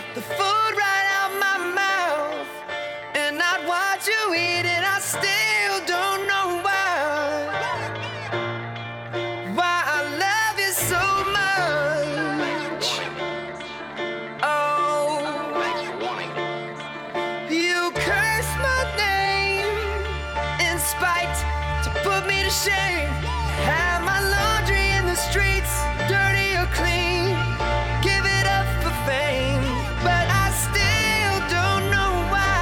the food right out my mouth, and I'd watch you eat it. I still don't know why I love you so much. Oh, you curse my name in spite to put me to shame. Have my laundry in the streets, dirty or clean. Give it up for fame, but I still don't know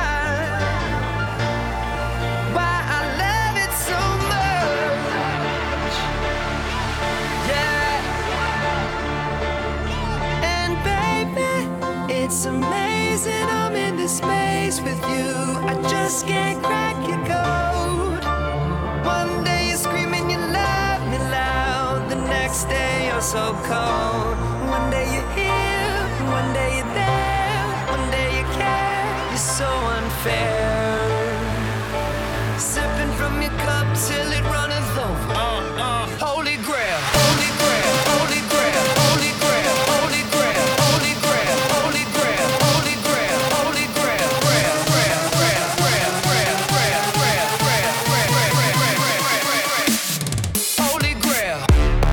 why I love it so much. Yeah. And baby, it's amazing I'm in this space with you. I just can't crack your code. One day you're screaming you love me loud, the next day you're so cold. One day you're here, one day you're there, one day you care. You're so unfair. Sipping from your cup till it runneth over. Holy grail, holy grail, holy grail, holy grail, holy grail, holy grail, holy grail, holy grail, holy grail, grail, grail, grail, grail, grail, grail, grail, grail, holy grail.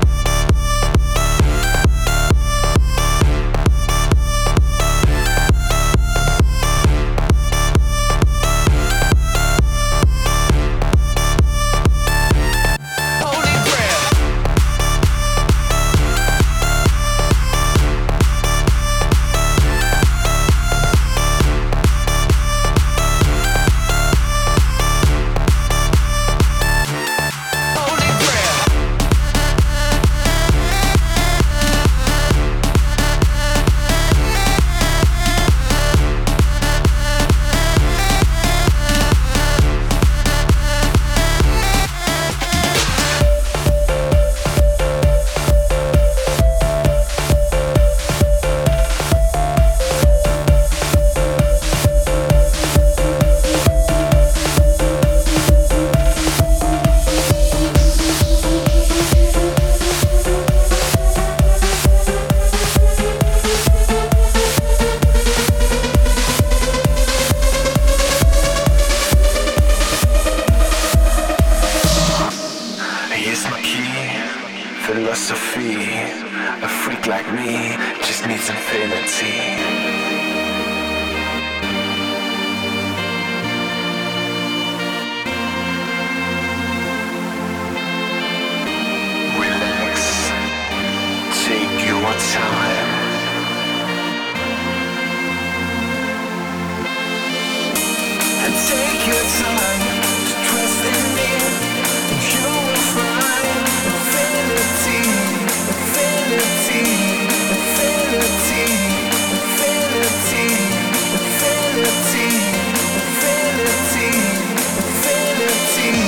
Here's my key, philosophy. A freak like me just needs infinity. Relax, take your time. And take your time to trust in me. You will find infinity, infinity, infinity, infinity, infinity, infinity, infinity.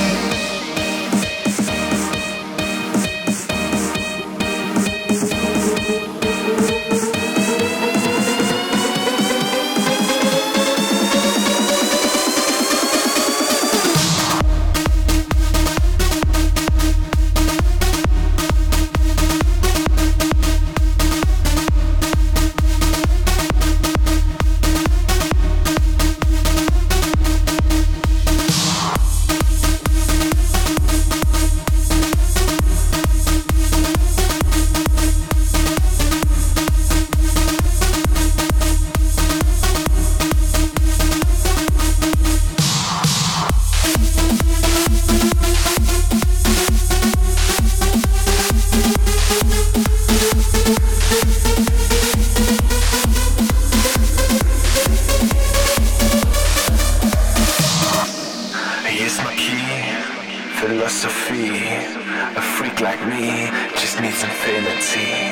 Here's my key, philosophy. A freak like me just needs infinity.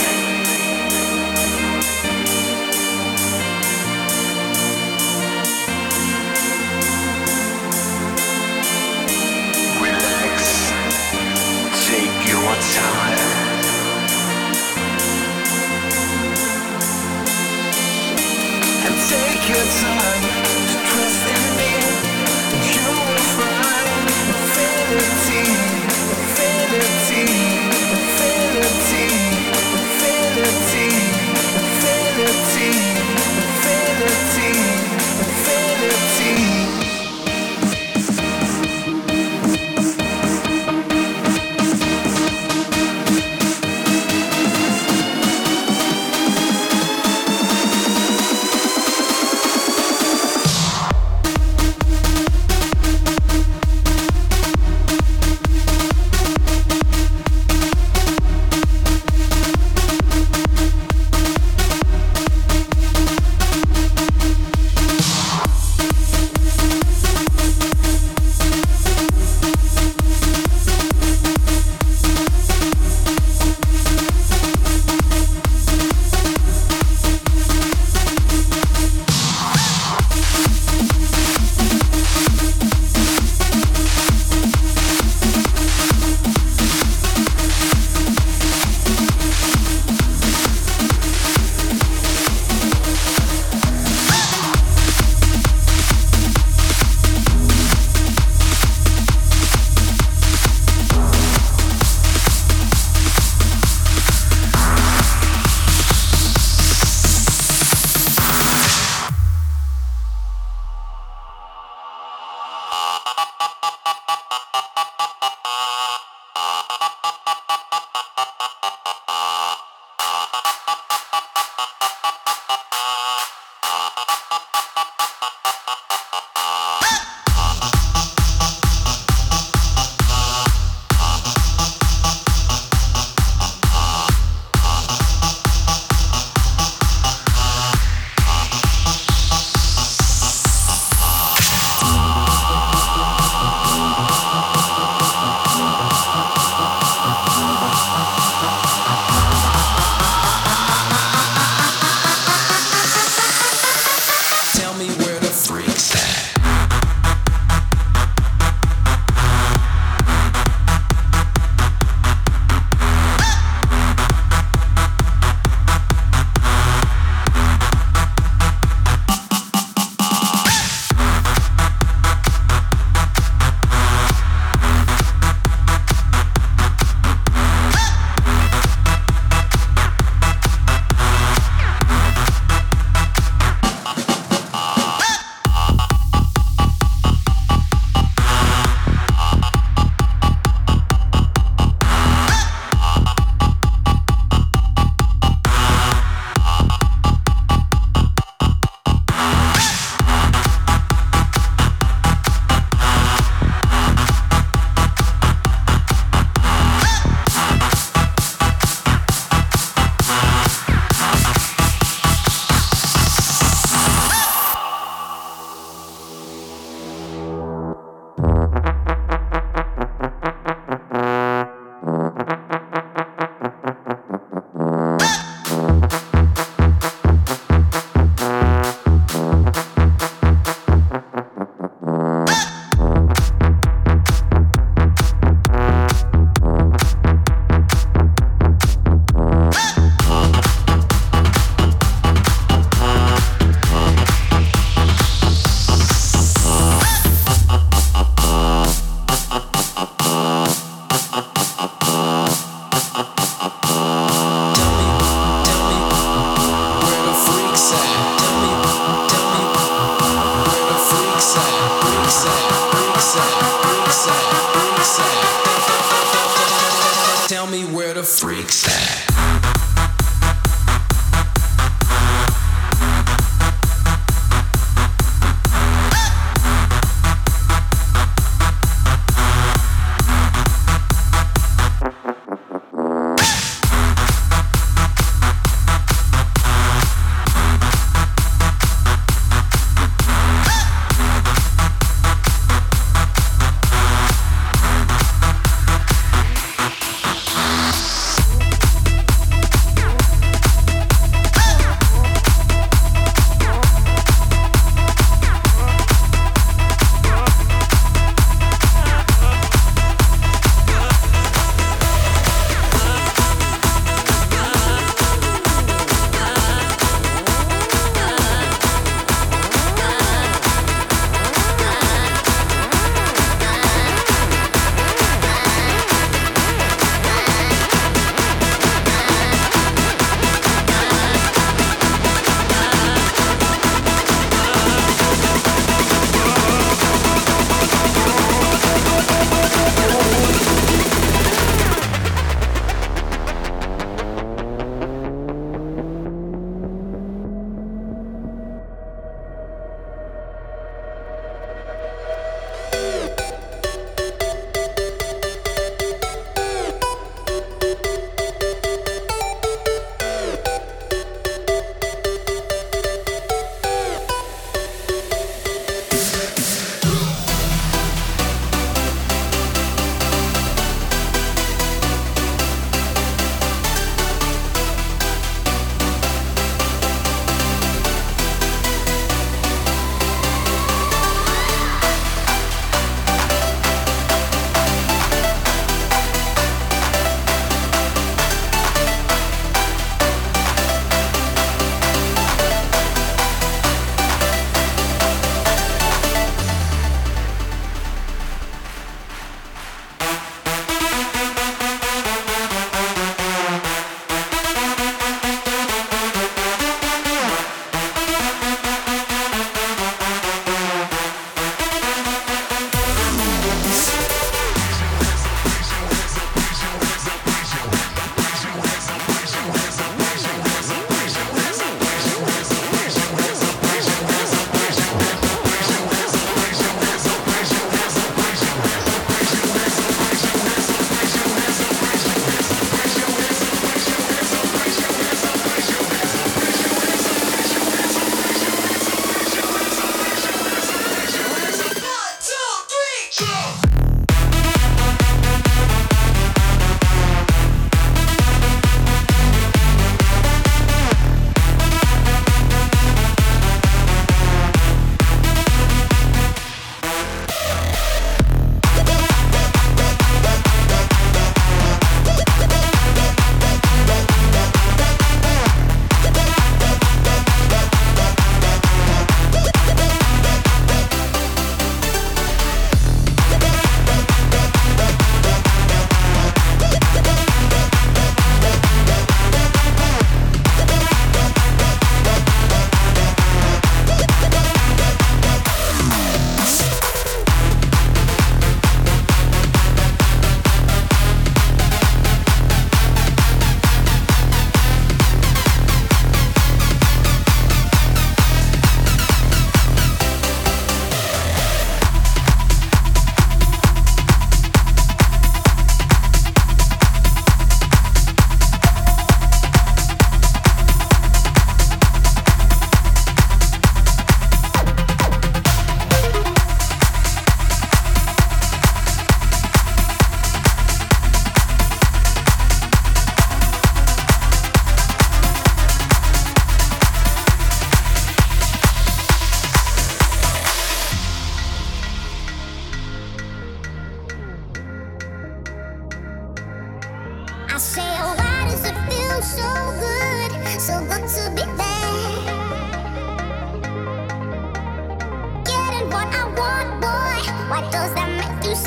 Relax, take your time. And take your time to trust in me. You will find infinity, infinity, infinity, infinity, infinity, infinity.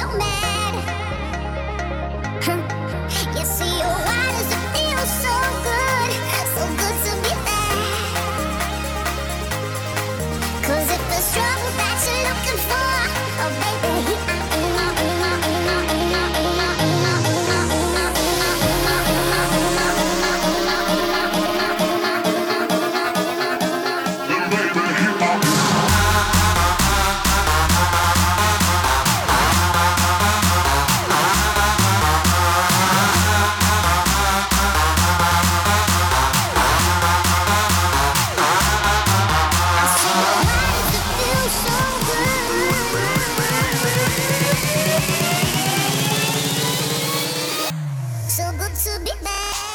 mad? You see, oh, why does it feel so good? So good to be bad. 'Cause if the struggle that you're looking for, oh baby, so good to be bad.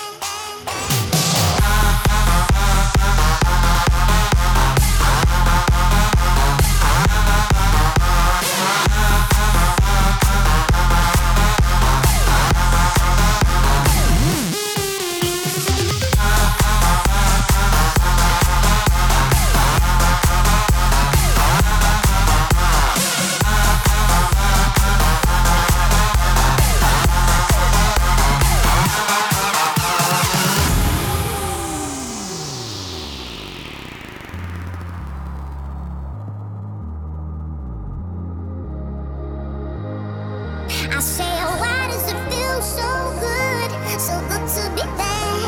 I say, oh, why does it feel so good? So good to be bad.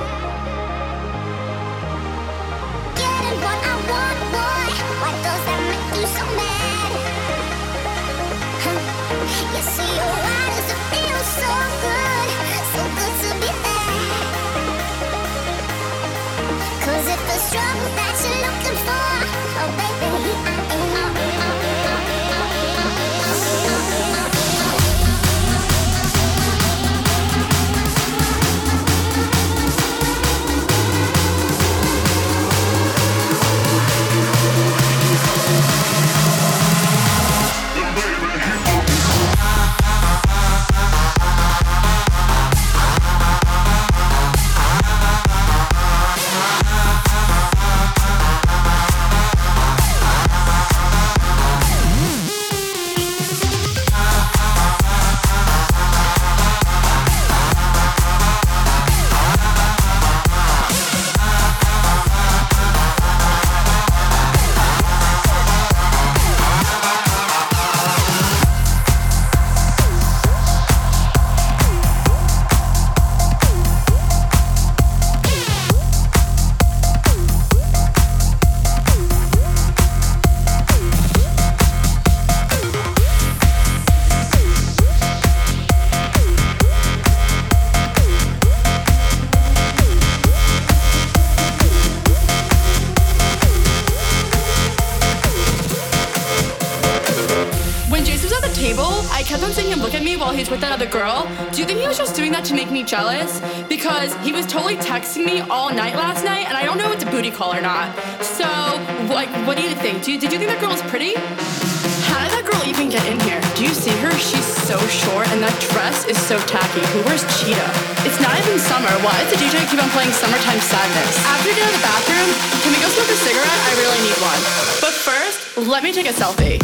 Getting what I want, boy. Why does that make you so mad? You see, oh, why does it feel so good? So good to be bad. 'Cause if the struggle that you're looking for, oh baby, I kept on seeing him look at me while he's with that other girl. Do you think he was just doing that to make me jealous? Because he was totally texting me all night last night, and I don't know if it's a booty call or not. So, what do you think? Did you think that girl was pretty? How did that girl even get in here? Do you see her? She's so short, and that dress is so tacky. Who wears cheetah? It's not even summer. Why does the DJ keep on playing Summertime Sadness? After we get out of the bathroom, can we go smoke a cigarette? I really need one. But first, let me take a selfie.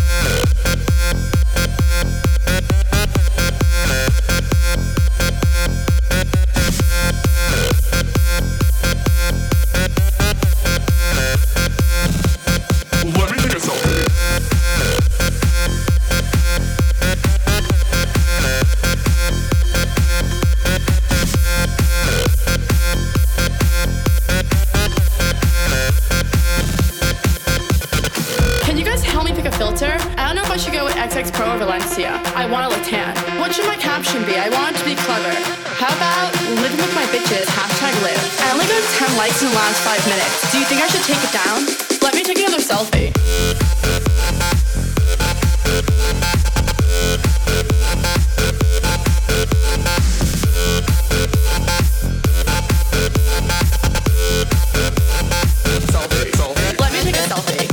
XX Pro or Valencia. I want a Latan. What should my caption be? I want it to be clever. How about living with my bitches, #live. I only got 10 likes in the last 5 minutes. Do you think I should take it down? Let me take another selfie. Let me take a selfie.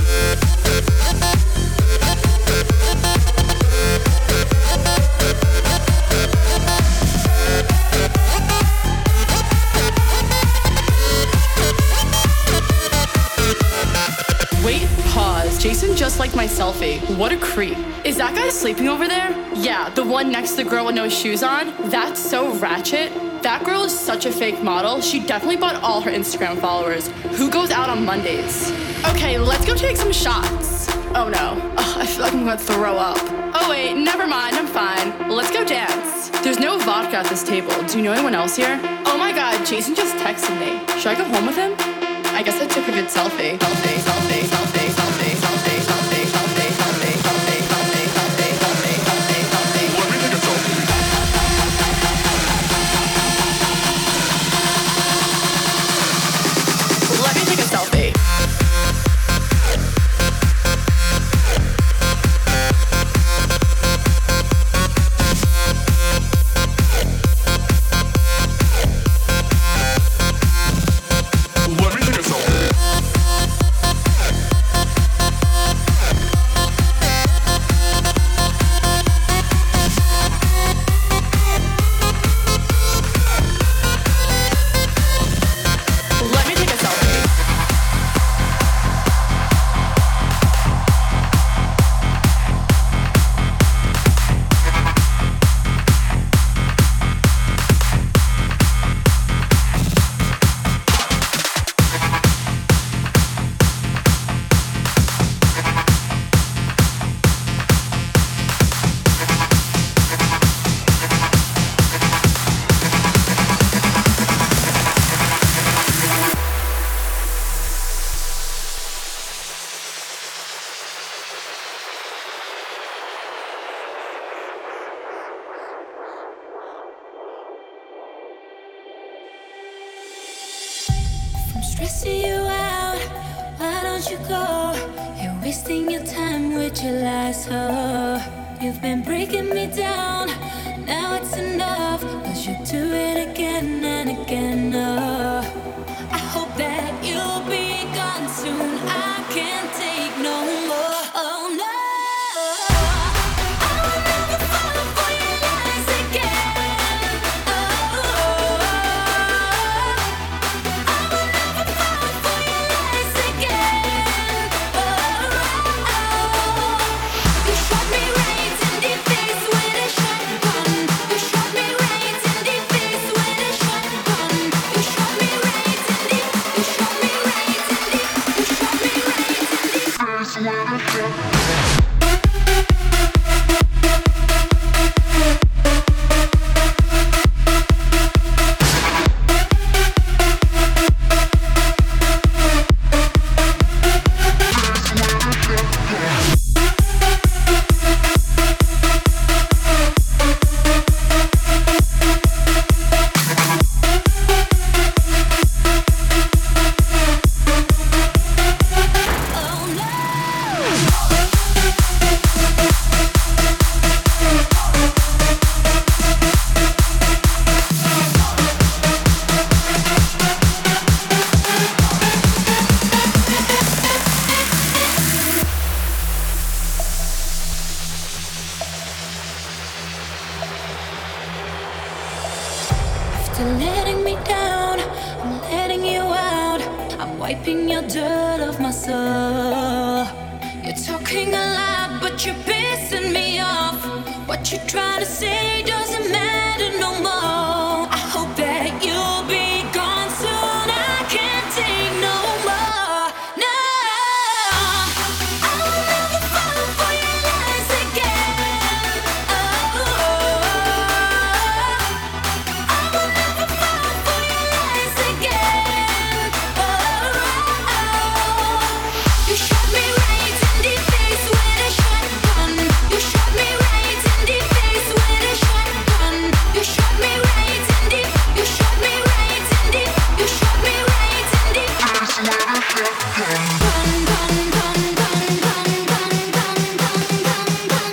Wait, pause. Jason just liked my selfie. What a creep. Is that guy sleeping over there? Yeah, the one next to the girl with no shoes on. That's so ratchet. That girl is such a fake model. She definitely bought all her Instagram followers. Who goes out on Mondays? Okay, let's go take some shots. Oh no. Ugh, I feel like I'm gonna throw up. Oh wait, never mind, I'm fine. Let's go dance. There's no vodka at this table. Do you know anyone else here? Oh my god, Jason just texted me. Should I go home with him? I guess I took a good selfie. Selfie, selfie, selfie, selfie, selfie, selfie, selfie, selfie, selfie, selfie, selfie, selfie, selfie, selfie. Let me take a selfie. Let me take a selfie. Let me take a selfie. Let me take a selfie. I'm stressing you out. Why don't you go? You're wasting your time with your lies. Oh, you've been breaking me down. Now it's enough. 'Cause you do it again and again. Oh, I hope that you'll be gone soon. I can't take no more. Oh no. I will never fall for your lies again. Oh. After letting me down, I'm letting you out. I'm wiping your dirt off my soul. You're talking a lot, but you're pissing me off. What you're trying to say doesn't matter no more. I hope that you'll be gone soon. I can't take no more. No, I will never fall for your lies again. Oh. You shot me right in the face with a shotgun. You shot me right in the face with a shotgun. You shot me right in the. You shot me right in the. You shot me right in the face with a shotgun. Gun, gun, gun, gun, gun, gun, gun, gun, gun,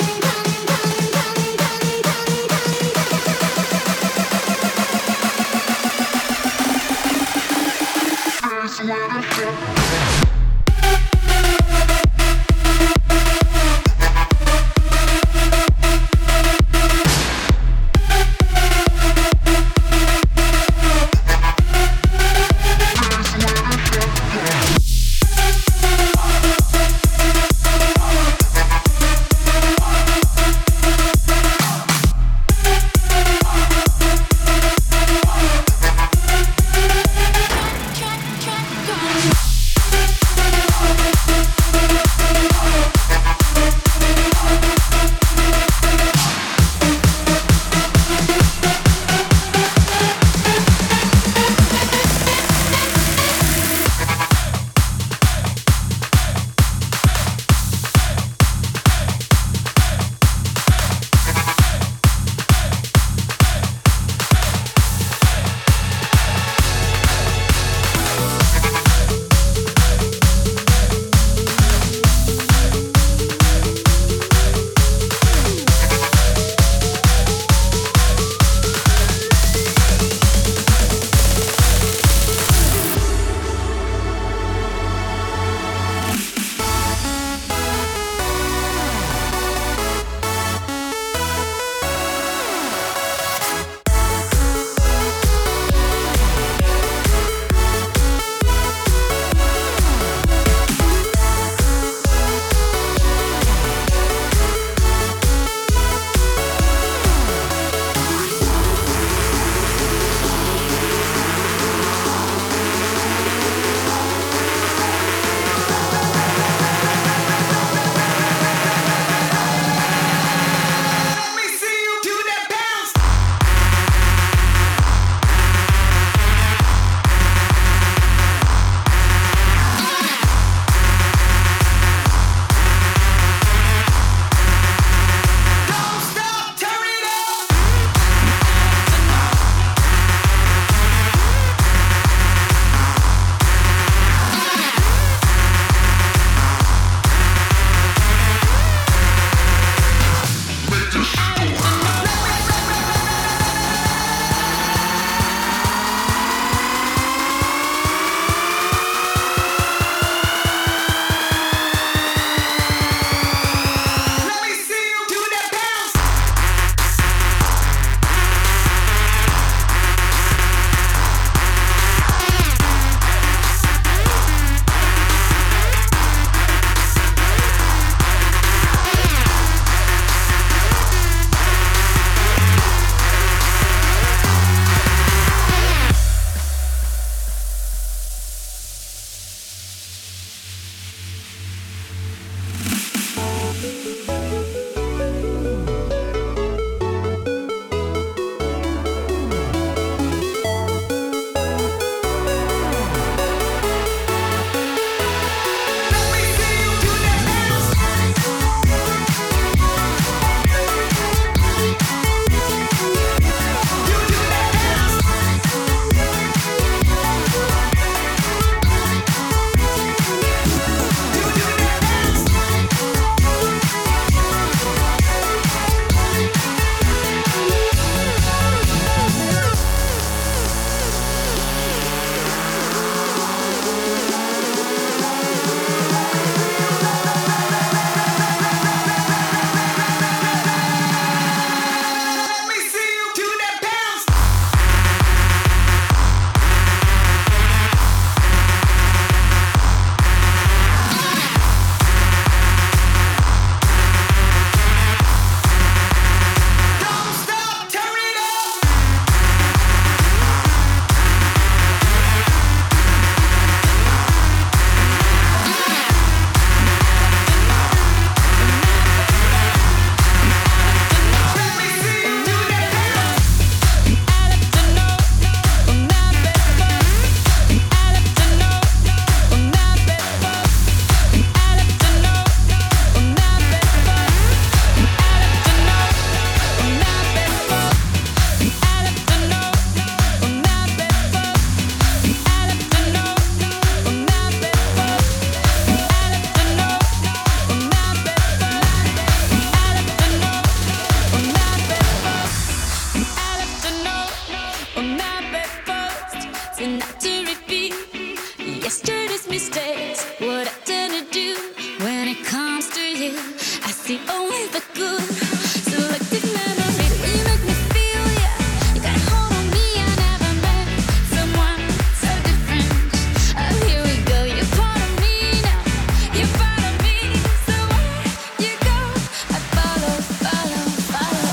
what I tend to do when it comes to you. I see only the good. Selective memory, you make me feel ya. You got a hold on me, I never met someone so different. Oh, here we go, you're part of me now. You're part of me, so where you go, I follow, follow, follow.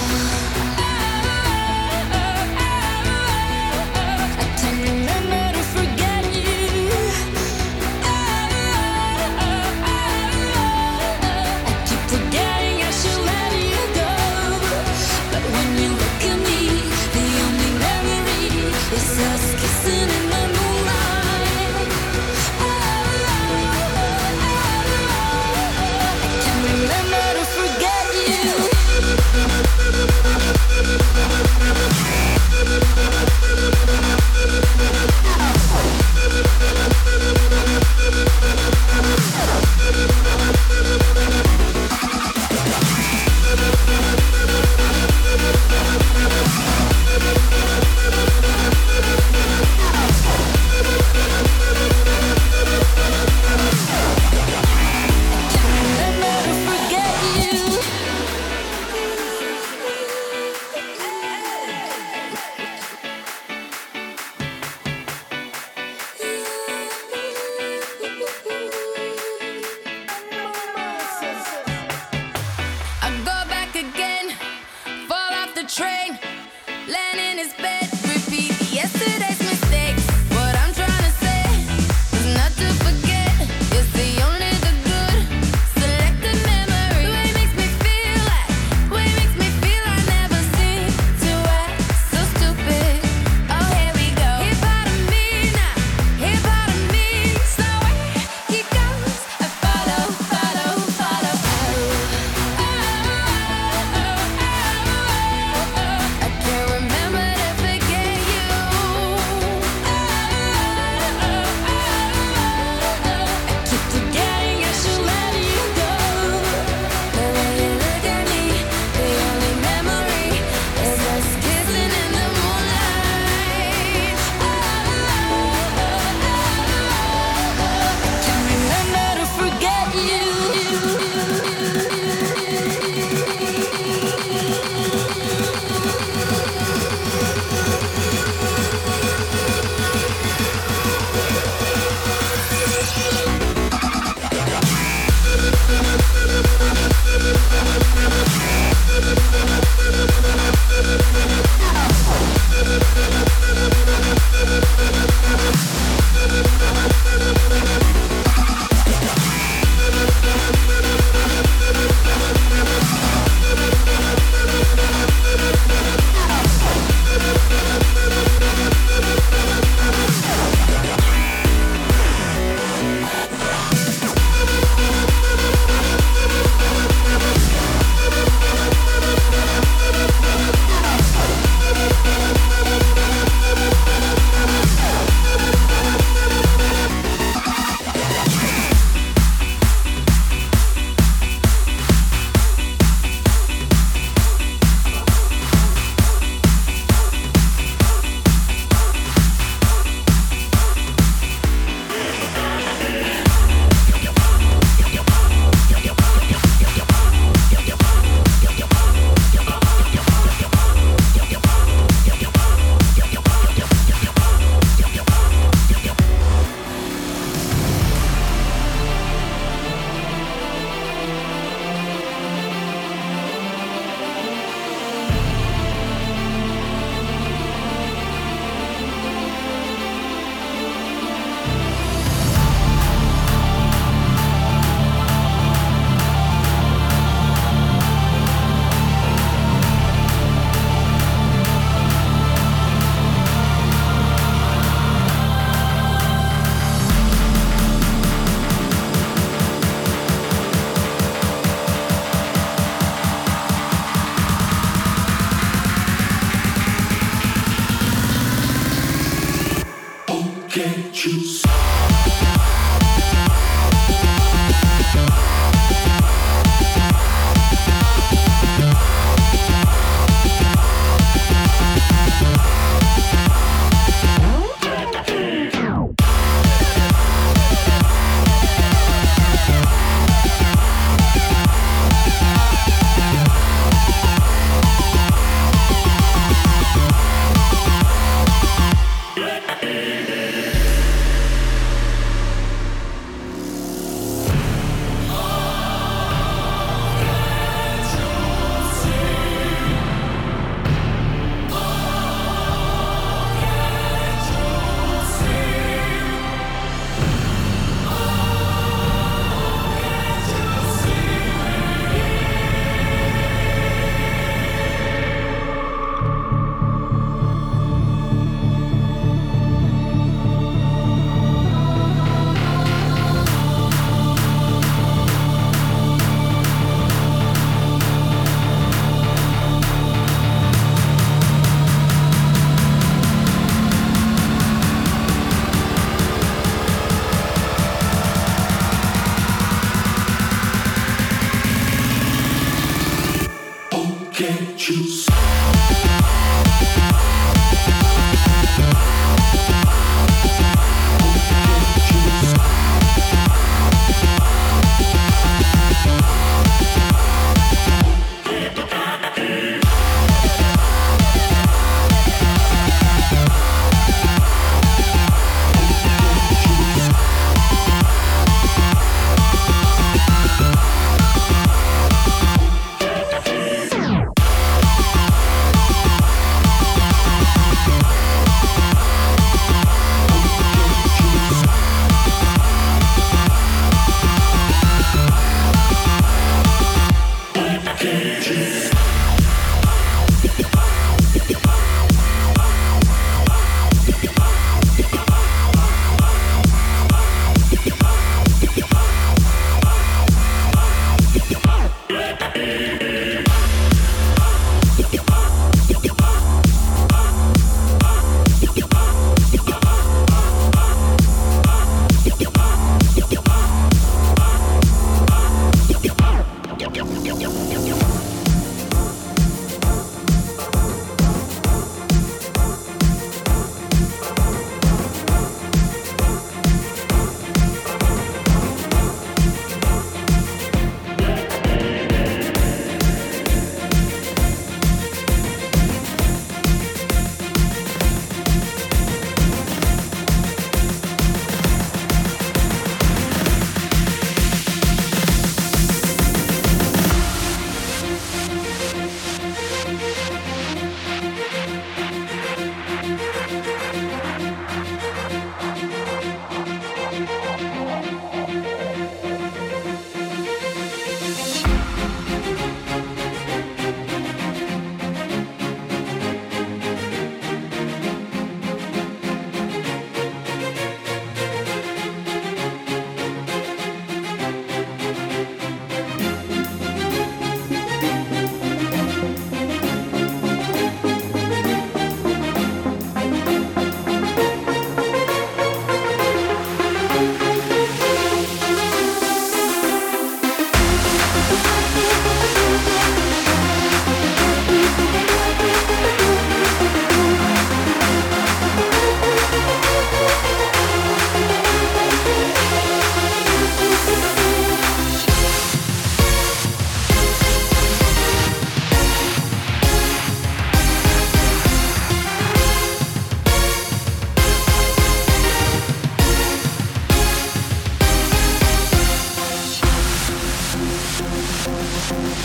I can't remember to forget you. I keep forgetting I should let you go. But when you look at me, the only memory is us kissing in the moonlight. I can't remember to forget you.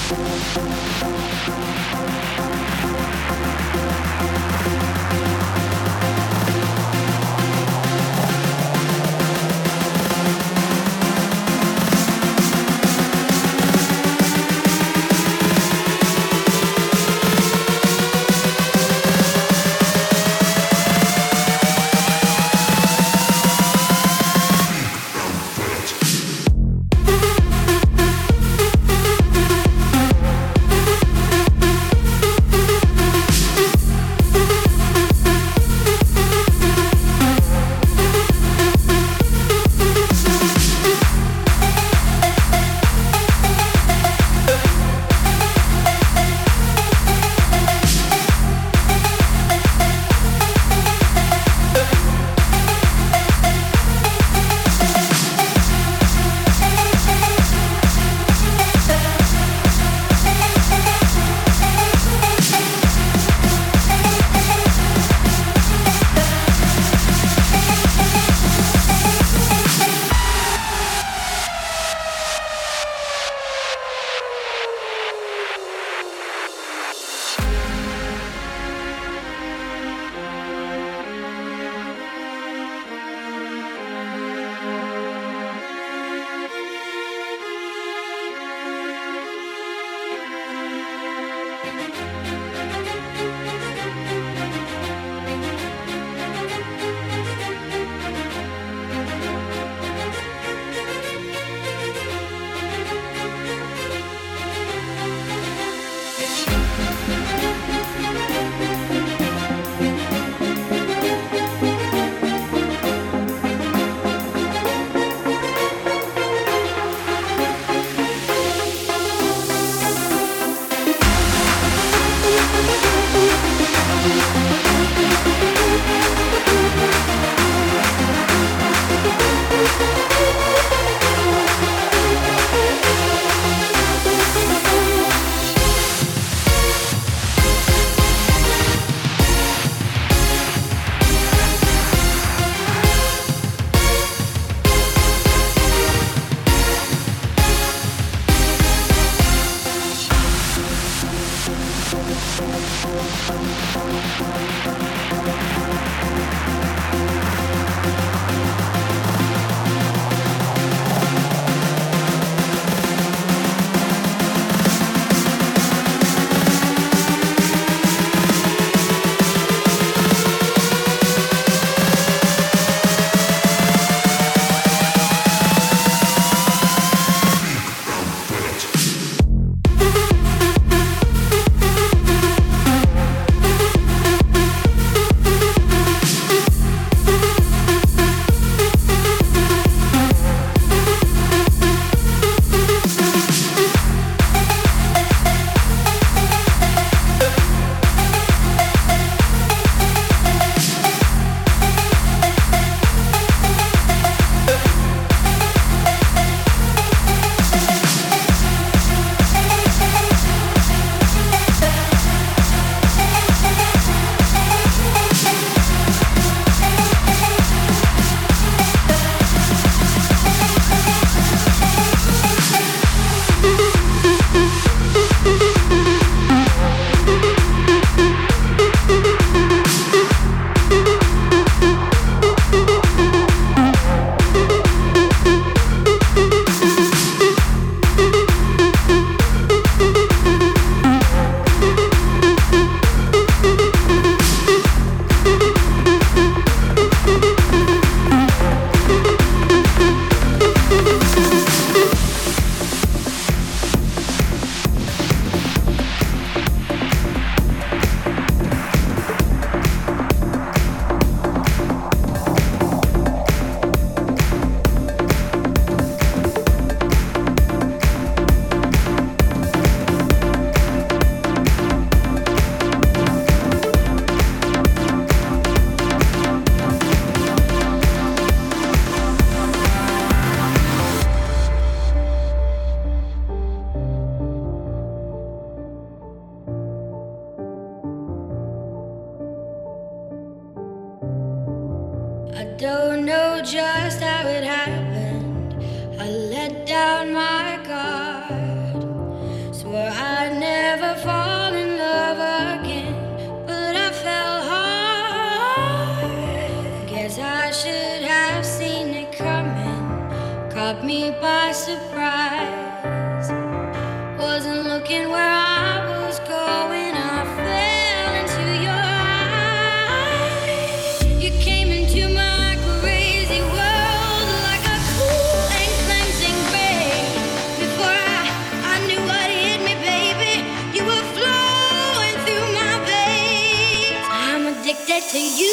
Don't know just how it happened. I let down my guard. Swore caught me by surprise. Wasn't looking where I was going. I fell into your eyes. You came into my crazy world like a cool and cleansing rain. Before I knew what hit me, baby, you were flowing through my veins. I'm addicted to you.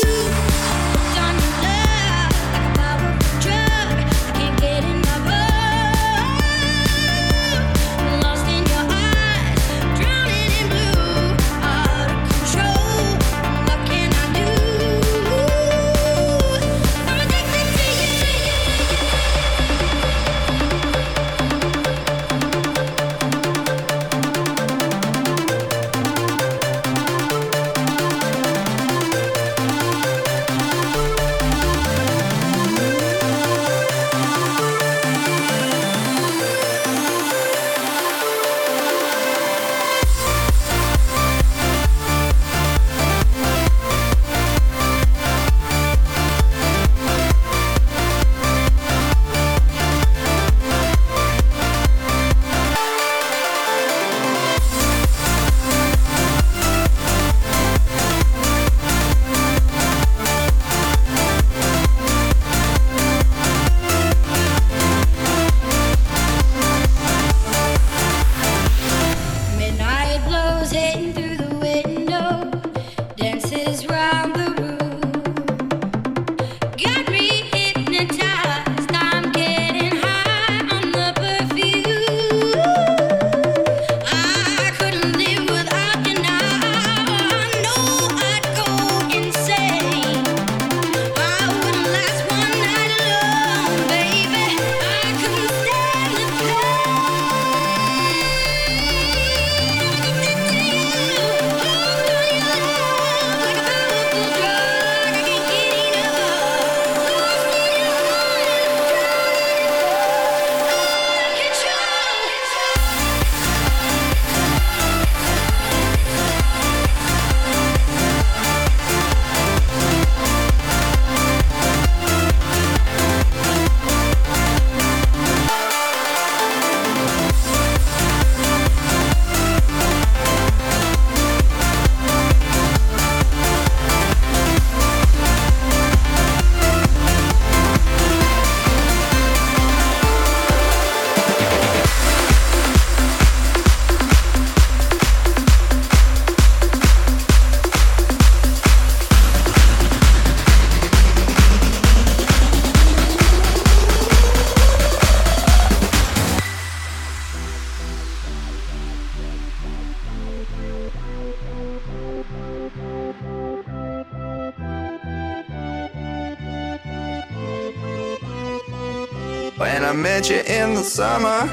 When I met you in the summer,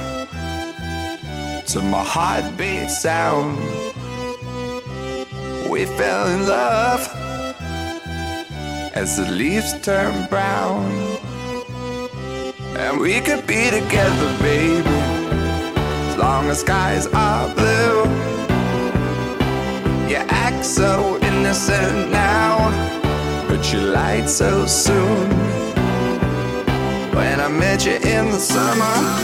to my heartbeat sound, we fell in love as the leaves turn brown. And we could be together, baby, as long as skies are blue. You act so innocent now, but you lied so soon. When I met you in the summer,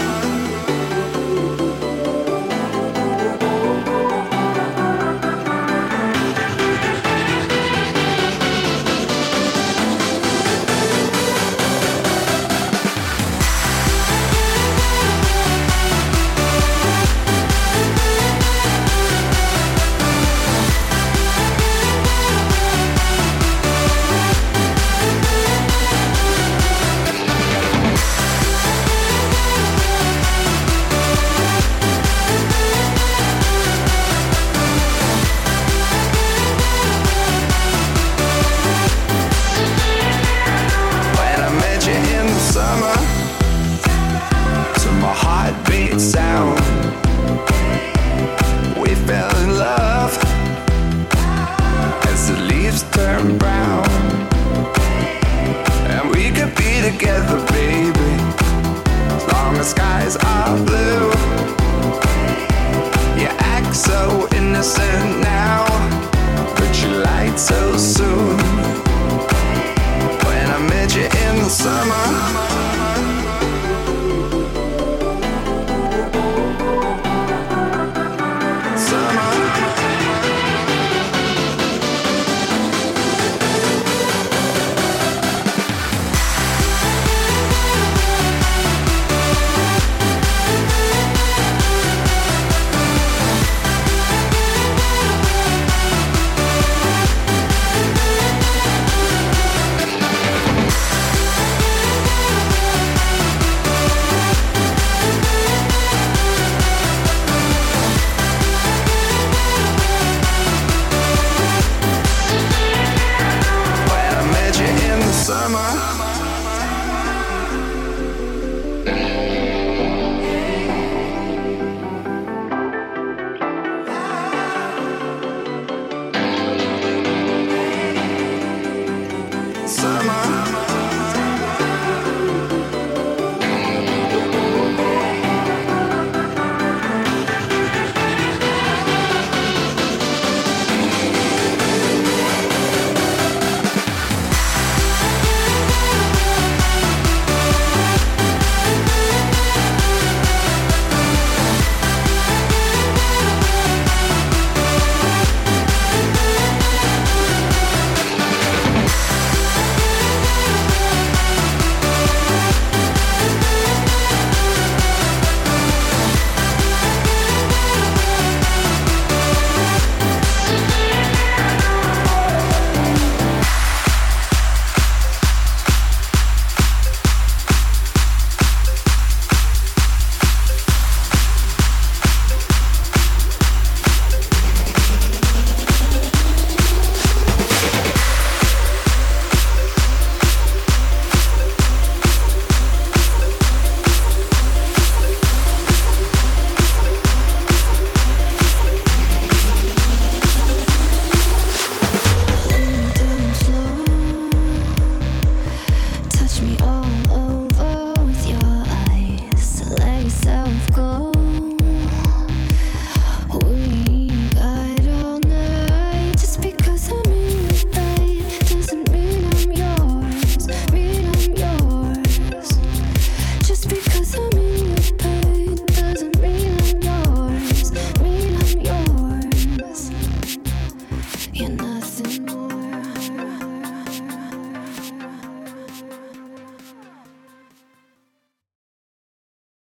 sound, we fell in love as the leaves turn brown. And we could be together, baby, as long as skies are blue. You act so innocent now, but you lied so soon.